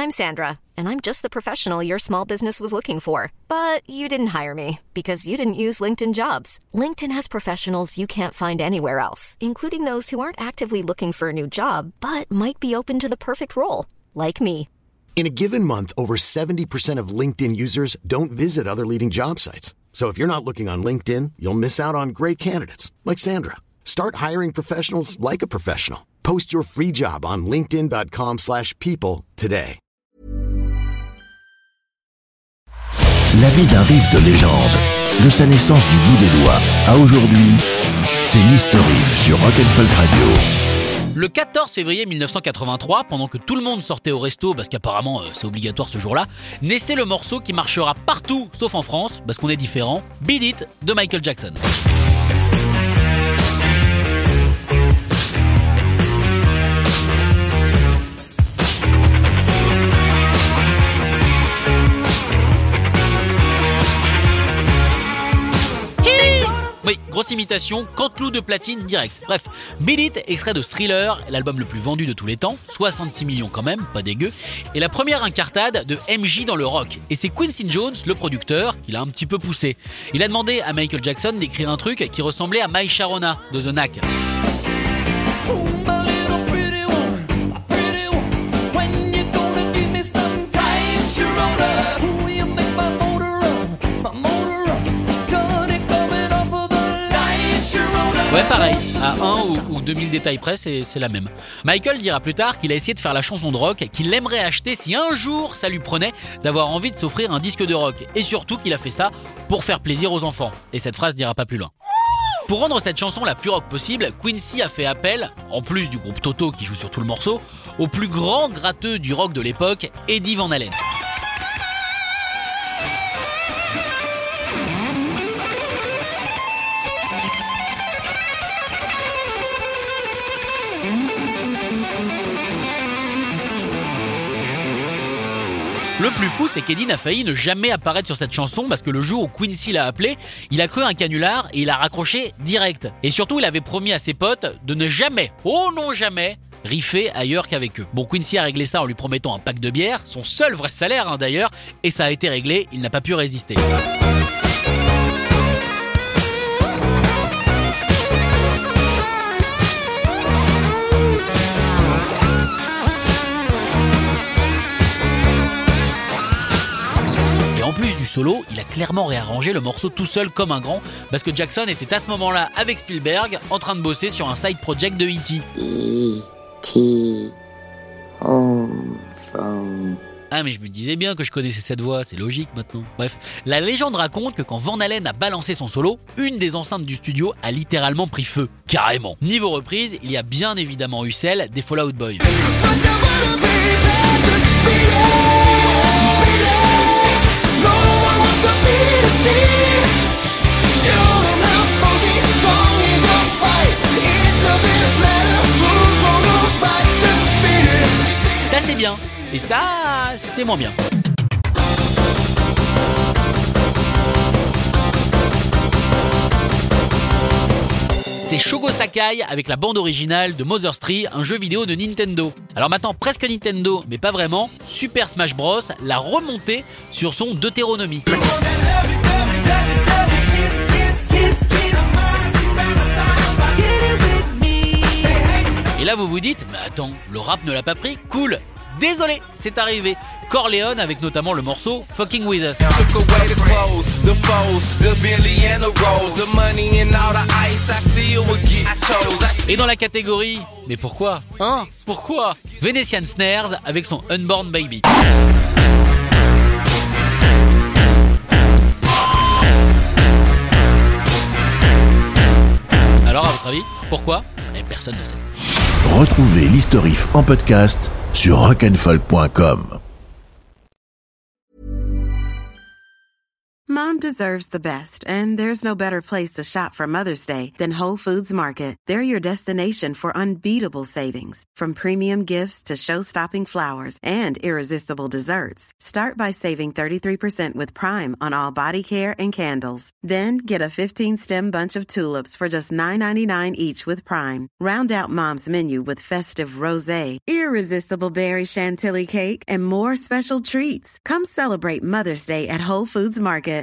I'm Sandra, and I'm just the professional your small business was looking for. But you didn't hire me because you didn't use LinkedIn Jobs. LinkedIn has professionals you can't find anywhere else, including those who aren't actively looking for a new job, but might be open to the perfect role, like me. In a given month, over 70% of LinkedIn users don't visit other leading job sites. So if you're not looking on LinkedIn, you'll miss out on great candidates like Sandra. Start hiring professionals like a professional. Post your free job on linkedin.com/people today. La vie d'un riff de légende, de sa naissance du bout des doigts à aujourd'hui, c'est l'History Riff sur Rock & Folk Radio. Le 14 février 1983, pendant que tout le monde sortait au resto, parce qu'apparemment c'est obligatoire ce jour-là, naissait le morceau qui marchera partout, sauf en France, parce qu'on est différent, Beat It de Michael Jackson. Oui, grosse imitation, Canteloup de platine direct. Bref, Beat It, extrait de Thriller, l'album le plus vendu de tous les temps, 66 millions quand même, pas dégueu, et la première incartade de MJ dans le rock. Et c'est Quincy Jones, le producteur, qui l'a un petit peu poussé. Il a demandé à Michael Jackson d'écrire un truc qui ressemblait à My Sharona de The Knack. Ouais, pareil, à 1 ou 2000 détails près, c'est la même. Michael dira plus tard qu'il a essayé de faire la chanson de rock qu'il aimerait acheter si un jour ça lui prenait d'avoir envie de s'offrir un disque de rock. Et surtout qu'il a fait ça pour faire plaisir aux enfants. Et cette phrase n'ira pas plus loin. Pour rendre cette chanson la plus rock possible, Quincy a fait appel, en plus du groupe Toto qui joue sur tout le morceau, au plus grand gratteux du rock de l'époque, Eddie Van Halen. Le plus fou, c'est qu'Eddie n'a failli ne jamais apparaître sur cette chanson parce que le jour où Quincy l'a appelé, il a cru un canular et il a raccroché direct. Et surtout, il avait promis à ses potes de ne jamais, oh non jamais, riffer ailleurs qu'avec eux. Bon, Quincy a réglé ça en lui promettant un pack de bière, son seul vrai salaire d'ailleurs, et ça a été réglé, il n'a pas pu résister. En plus du solo, il a clairement réarrangé le morceau tout seul comme un grand parce que Jackson était à ce moment-là avec Spielberg en train de bosser sur un side project de E.T. E.T. Home phone. Ah mais je me disais bien que je connaissais cette voix, c'est logique maintenant. Bref, la légende raconte que quand Van Halen a balancé son solo, une des enceintes du studio a littéralement pris feu, carrément. Niveau reprise, il y a bien évidemment eu celle des Fall Out Boy. Ça c'est bien, et ça c'est moins bien. C'est Shogo Sakai avec la bande originale de Mother's Tree, un jeu vidéo de Nintendo. Alors maintenant presque Nintendo, mais pas vraiment, Super Smash Bros l'a remonté sur son Deutéronomie. Et là vous vous dites, mais attends, le rap ne l'a pas pris, cool. Désolé, c'est arrivé. Corleone avec notamment le morceau Fucking With Us. Et dans la catégorie, mais pourquoi ? Pourquoi ? Venetian Snares avec son Unborn Baby. Alors à votre avis, pourquoi ? Personne ne sait. Retrouvez l'History Riff en podcast sur rockandfolk.com. Mom deserves the best, and there's no better place to shop for Mother's Day than Whole Foods Market. They're your destination for unbeatable savings, from premium gifts to show-stopping flowers and irresistible desserts. Start by saving 33% with Prime on all body care and candles. Then get a 15-stem bunch of tulips for just $9.99 each with Prime. Round out Mom's menu with festive rosé, irresistible berry chantilly cake, and more special treats. Come celebrate Mother's Day at Whole Foods Market.